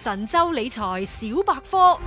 神州理財小百科。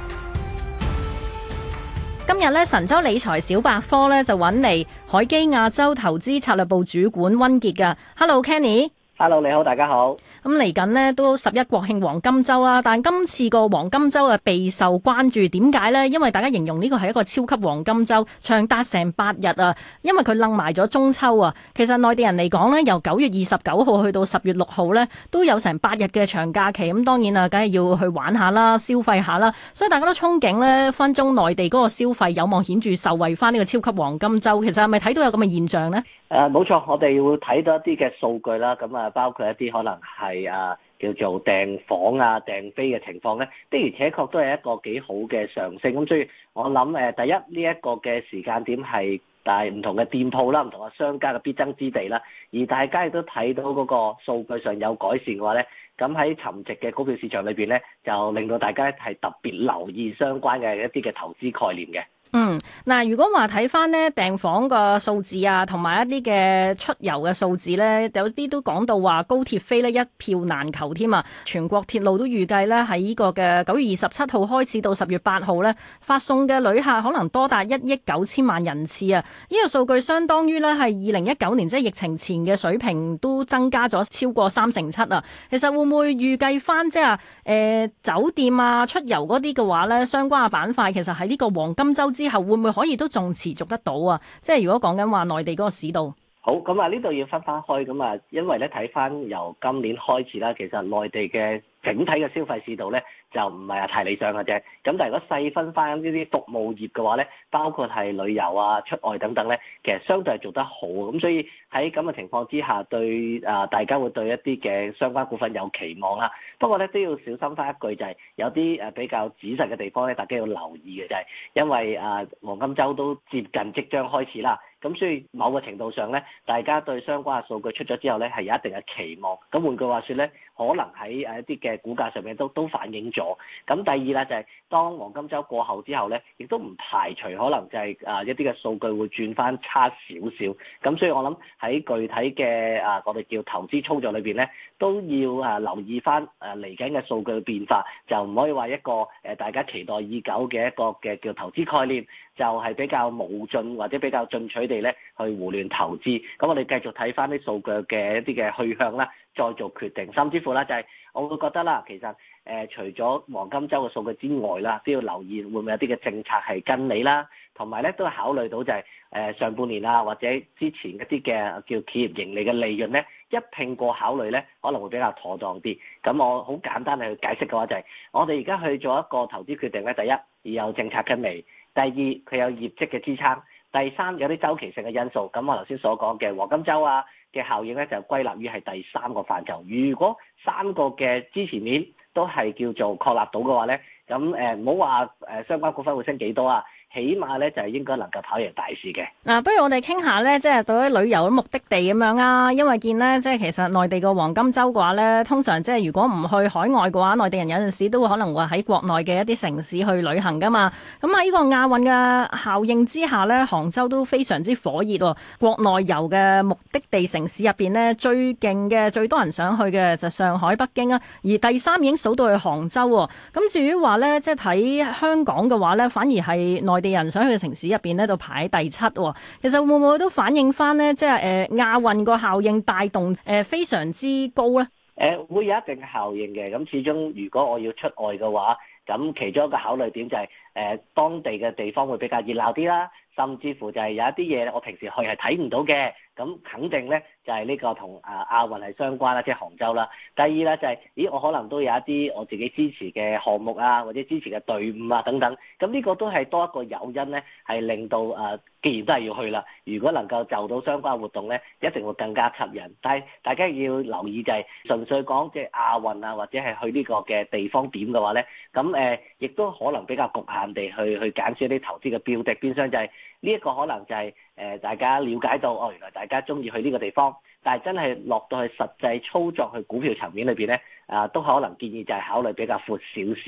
今日咧，神州理財小百科咧就揾嚟海基亞洲投資策略部主管溫傑噶。Hello，Kenny。Hello， 你好，大家好。 咁嚟緊呢都11國慶黃金週啦，但今次個黃金週啊備受關注，點解呢？因為大家形容呢個係一個超級黃金週，長達成8日啊，因為佢楞埋咗中秋啊。其實內地人嚟講呢，由9月29號去到10月6號呢，都有成8日嘅長假期。咁當然啊，梗係要去玩下啦，消費下啦。所以大家都憧憬呢，分鐘內地嗰個消費有望顯著受惠翻呢個超級黃金週。其實係咪睇到有咁嘅現象呢？ 冇錯，我哋會睇到一啲嘅數據啦，咁啊包括一啲可能係叫做訂房啊、訂飛嘅情況咧，的而且確都係一個幾好嘅上升。咁所以我諗第一呢一個嘅時間點係但係唔同嘅店鋪啦、唔同嘅商家嘅必爭之地啦，而大家亦都睇到嗰個數據上有改善嘅話咧，咁喺沉寂嘅股票市場裏邊咧，就令到大家係特別留意相關嘅一啲嘅投資概念嘅。 嗱，如果話睇翻呢訂房個數字啊，同埋一啲嘅出遊嘅數字呢，有啲都講到話高鐵飛呢一票難求添啊！全國鐵路都預計呢喺呢個嘅9月27號開始到10月8號呢，發送嘅旅客可能多達1億9千萬人次啊！呢個數據相當於呢係2019年即係疫情前嘅水平，都增加咗超過7%啊！其實會唔會預計翻即係酒店啊、出遊嗰啲嘅話呢，相關嘅板塊其實喺呢個黃金週之後會唔會可以都仲持續得到啊？即係如果講緊話內地嗰個市道， 好咁啊，呢度要分開咁啊，因為咧睇翻由今年開始啦，其實內地嘅整體嘅消費市道咧就唔係太理想嘅啫。咁但係如果細分翻呢啲服務業嘅話咧，包括係旅遊啊、出外等等咧，其實相對係做得好。咁所以喺咁嘅情況之下，對大家會對一啲嘅相關股份有期望啦。不過咧都要小心翻一句，就係有啲比較仔細嘅地方咧，大家要留意嘅就係因為黃金週都接近即將開始啦。咁所以某個程度上咧，大家對相關嘅數據出咗之後咧，係有一定嘅期望。咁換句話說咧，可能喺一啲嘅股價上面都反映咗。咁第二咧就係當黃金週過後之後咧，亦都唔排除可能就係一啲嘅數據會轉翻差少少。咁所以我諗喺具體嘅我哋叫投資操作裏邊咧，都要留意翻嚟緊嘅數據嘅變化，就唔可以話一個大家期待已久嘅一個嘅叫投資概念，就係比較無盡或者比較進取地咧去胡亂投資。咁我哋繼續睇翻啲數據嘅一啲嘅去向啦，再做決定。甚至乎啦，就係我會覺得啦，其實除咗黃金週嘅數據之外啦，都要留意會唔會有啲嘅政策係跟你啦，同埋咧都考慮到就係上半年啊或者之前一啲嘅叫企業盈利嘅利潤咧，一併過考慮咧可能會比較妥當啲。咁我好簡單去解釋嘅話就係，我哋而家去做一個投資決定咧，第一要有政策跟你，第二佢有業績嘅支撐，第三有啲周期性嘅因素。咁我頭先所講嘅黃金週啊嘅效應咧，就歸納於係第三個範疇。如果三個嘅支持面都係叫做確立到嘅話咧，咁唔好話相關股份會升幾多啊，起碼咧就係應該能夠跑贏大市嘅。 不如我哋傾下咧，即係對於旅遊目的地咁樣啊，因為見咧，即係其實內地個黃金週嘅話咧，通常即係如果唔去海外嘅話，內地人有陣時都會可能會喺國內嘅一啲城市去旅行噶嘛。咁喺呢個亞運嘅效應之下咧，杭州都非常之火熱喎。國內遊嘅目的地城市入邊咧，最勁嘅、最多人想去嘅就上海、北京啊，而第三已經數到去杭州喎。咁至於話咧，即係睇香港嘅話咧，反而係內地人想去嘅城市入邊咧，度排第7喎。其實會唔會都反映翻呢？即係亞運個效應帶動非常之高咧？ 會有一定嘅效應嘅。咁始終如果我要出外嘅話，咁其中一個考慮點就係當地嘅地方會比較熱鬧啲啦，甚至乎就係有一啲嘢我平時去係睇唔到嘅。咁肯定咧就係呢個同亞運係相關啦，即係杭州啦。第二咧就係，我可能都有一啲我自己支持嘅項目啊，或者支持嘅隊伍啊等等。咁呢個都係多一個誘因咧，係令到既然都係要去啦，如果能夠就到相關活動咧，一定會更加吸引。但係大家要留意就係，純粹講即係亞運啊，或者係去呢個嘅地方點嘅話咧，咁亦都可能比較局限地去揀選一啲投資嘅標的，變相就係呢一個可能就係大家了解到原來大家中意去呢個地方，但係真係落到去實際操作去股票層面裏邊咧，都可能建議就係考慮比較闊少少嘅。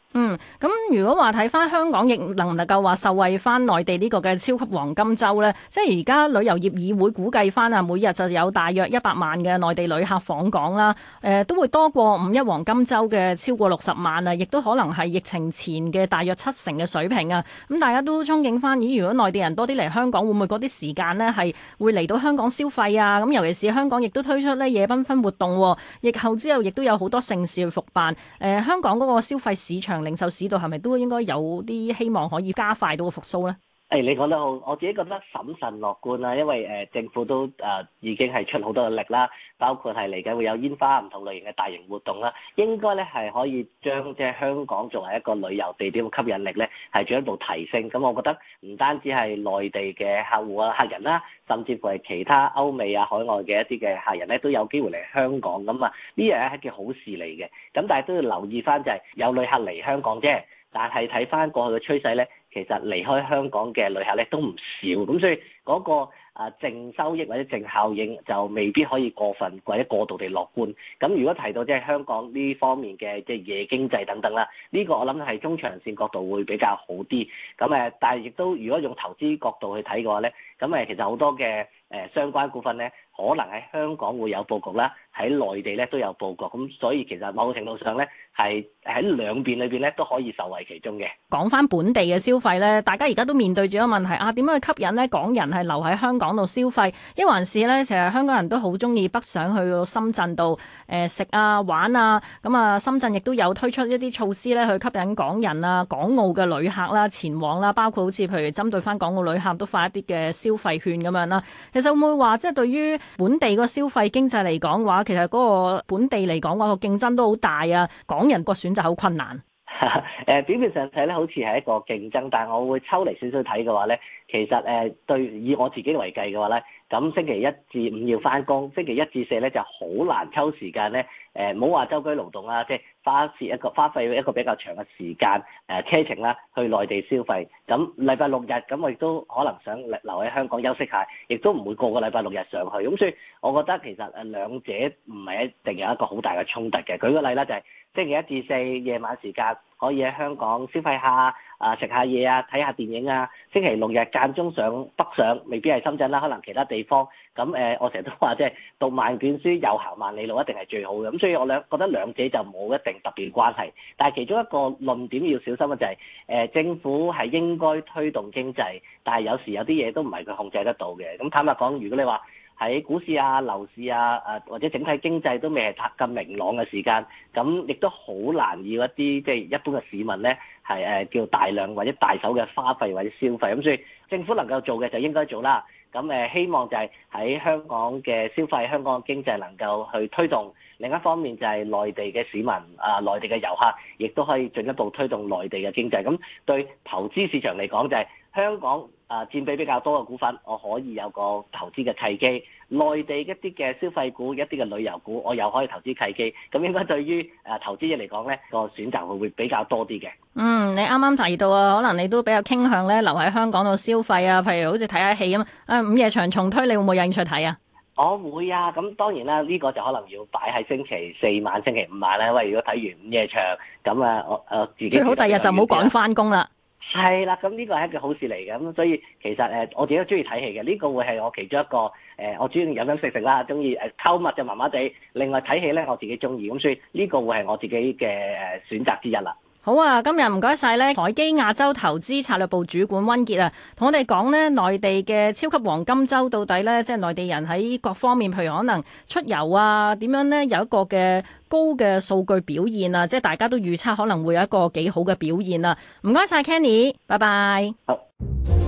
咁如果話睇翻香港，亦能唔能夠話受惠翻內地呢個嘅超級黃金週呢？即係而家旅遊業議會估計翻啊，每日就有大約100萬嘅內地旅客訪港啦。都會多過5·1黃金週嘅超過60萬啊，亦都可能係疫情前嘅大約70%嘅水平啊。咁大家都憧憬翻，咦？如果內地人多啲嚟香港，會唔會嗰啲時間呢係會嚟到香港消費啊？咁尤其是香港亦都推出呢夜繽紛活動，疫後之後亦都有好多盛事去復辦。香港嗰個消費市場、零售市道係咪都應該有啲希望可以加快到個復甦呢？ 你講得好，我自己覺得審慎樂觀啦，因為政府都已經係出好多嘅力啦，包括係嚟緊會有煙花唔同類型嘅大型活動啦，應該咧係可以將即係香港作為一個旅遊地點嘅吸引力咧係進一步提升。咁我覺得唔單止係內地嘅客戶啊、客人啦，甚至乎係其他歐美啊、海外嘅一啲嘅客人咧都有機會嚟香港咁啊，呢樣係一件好事嚟嘅。咁但係都要留意翻就係有旅客嚟香港啫，但係睇翻過去嘅趨勢咧，其實離開香港嘅旅客咧都唔少，咁所以嗰個淨收益或者淨效應就未必可以過分或者過度地樂觀。咁如果提到即係香港呢方面嘅即係夜經濟等等啦，呢個我諗係中長線角度會比較好啲。咁但係亦都如果用投資角度去睇嘅話咧，咁其實好多嘅相關股份咧，可能喺香港會有佈局啦，喺內地咧都有佈局。咁所以其實某程度上咧係喺兩邊裏邊咧都可以受惠其中嘅。 講翻本地嘅消費咧，大家而家都面對住一個問題啊，點樣去吸引咧港人係留喺香港度消費？一還是咧，其實香港人都好中意北上去到深圳度食啊玩啊。咁啊，深圳亦都有推出一啲措施咧，去吸引港人啊、港澳嘅旅客啦前往啦，包括好似譬如針對翻港澳旅客都發一啲嘅消費券咁樣啦。其實會唔會話即係對於本地個消費經濟嚟講嘅話，其實嗰個本地嚟講嘅話個競爭都好大啊，港人個選擇好困難。 表面上睇咧好似係一個競爭，但係我會抽離少少睇嘅話咧，其實對以我自己為計嘅話咧，咁星期一至五要翻工，星期一至四咧就好難抽時間咧，唔好話周居勞動啦，即係花費一個比較長嘅時間車程啦，去內地消費。咁禮拜六日咁我亦都可能想留喺香港休息下，亦都唔會個個禮拜六日上去。咁所以我覺得其實兩者唔係一定有一個好大嘅衝突嘅。舉個例啦，就係星期一至四夜晚時間可以喺香港消費下食下嘢啊，睇下電影啊。星期六日間中上北上，未必係深圳啦，可能其他地方。咁我成日都話即係讀萬卷書又行萬里路，一定係最好嘅。咁所以我覺得兩者就冇一定特別關係。但係其中一個論點要小心嘅就係政府係應該推動經濟，但係有時有啲嘢都唔係佢控制得到嘅。咁坦白講，如果你話喺股市啊、樓市啊、或者整體經濟都未係咁明朗嘅時間，咁亦都好難要一啲即係一般嘅市民咧係叫大量或者大手嘅花費或者消費。咁所以政府能夠做嘅就應該做啦。咁希望就係喺香港嘅消費、香港嘅經濟能夠去推動。另一方面就係內地嘅市民內地嘅遊客，亦都可以進一步推動內地嘅經濟。咁對投資市場嚟講，就係香港佔比比較多嘅股份，我可以有個投資嘅契機；內地一啲嘅消費股、一啲嘅旅遊股，我又可以投資契機。咁應該對於投資者嚟講咧，個選擇會比較多啲嘅。 你啱啱提到啊，可能你都比較傾向咧留喺香港度消費啊，譬如好似睇下戲咁。午夜場重推，你會唔會有興趣睇啊？ 我會啊，咁當然啦，呢個就可能要擺喺星期四晚、星期五晚啦。因為如果睇完午夜場，咁我自己最好第日就唔好趕翻工啦。係啦，咁呢個係一件好事嚟嘅。咁所以其實我自己都中意睇戲嘅。呢個會係我其中一個我中意飲飲食食啦，中意購物就麻麻地。另外睇戲咧，我自己中意，咁所以呢個會係我自己嘅選擇之一啦。 好啊，今日唔該晒咧，凱基亞洲投資策略部主管溫傑啊，同我哋講呢內地嘅超級黃金週到底呢，即係內地人喺各方面，譬如可能出遊啊，點樣呢？有一個嘅高嘅數據表現啊，即係大家都預測可能會有一個幾好嘅表現啊。唔該晒 Kenny，拜拜。 好。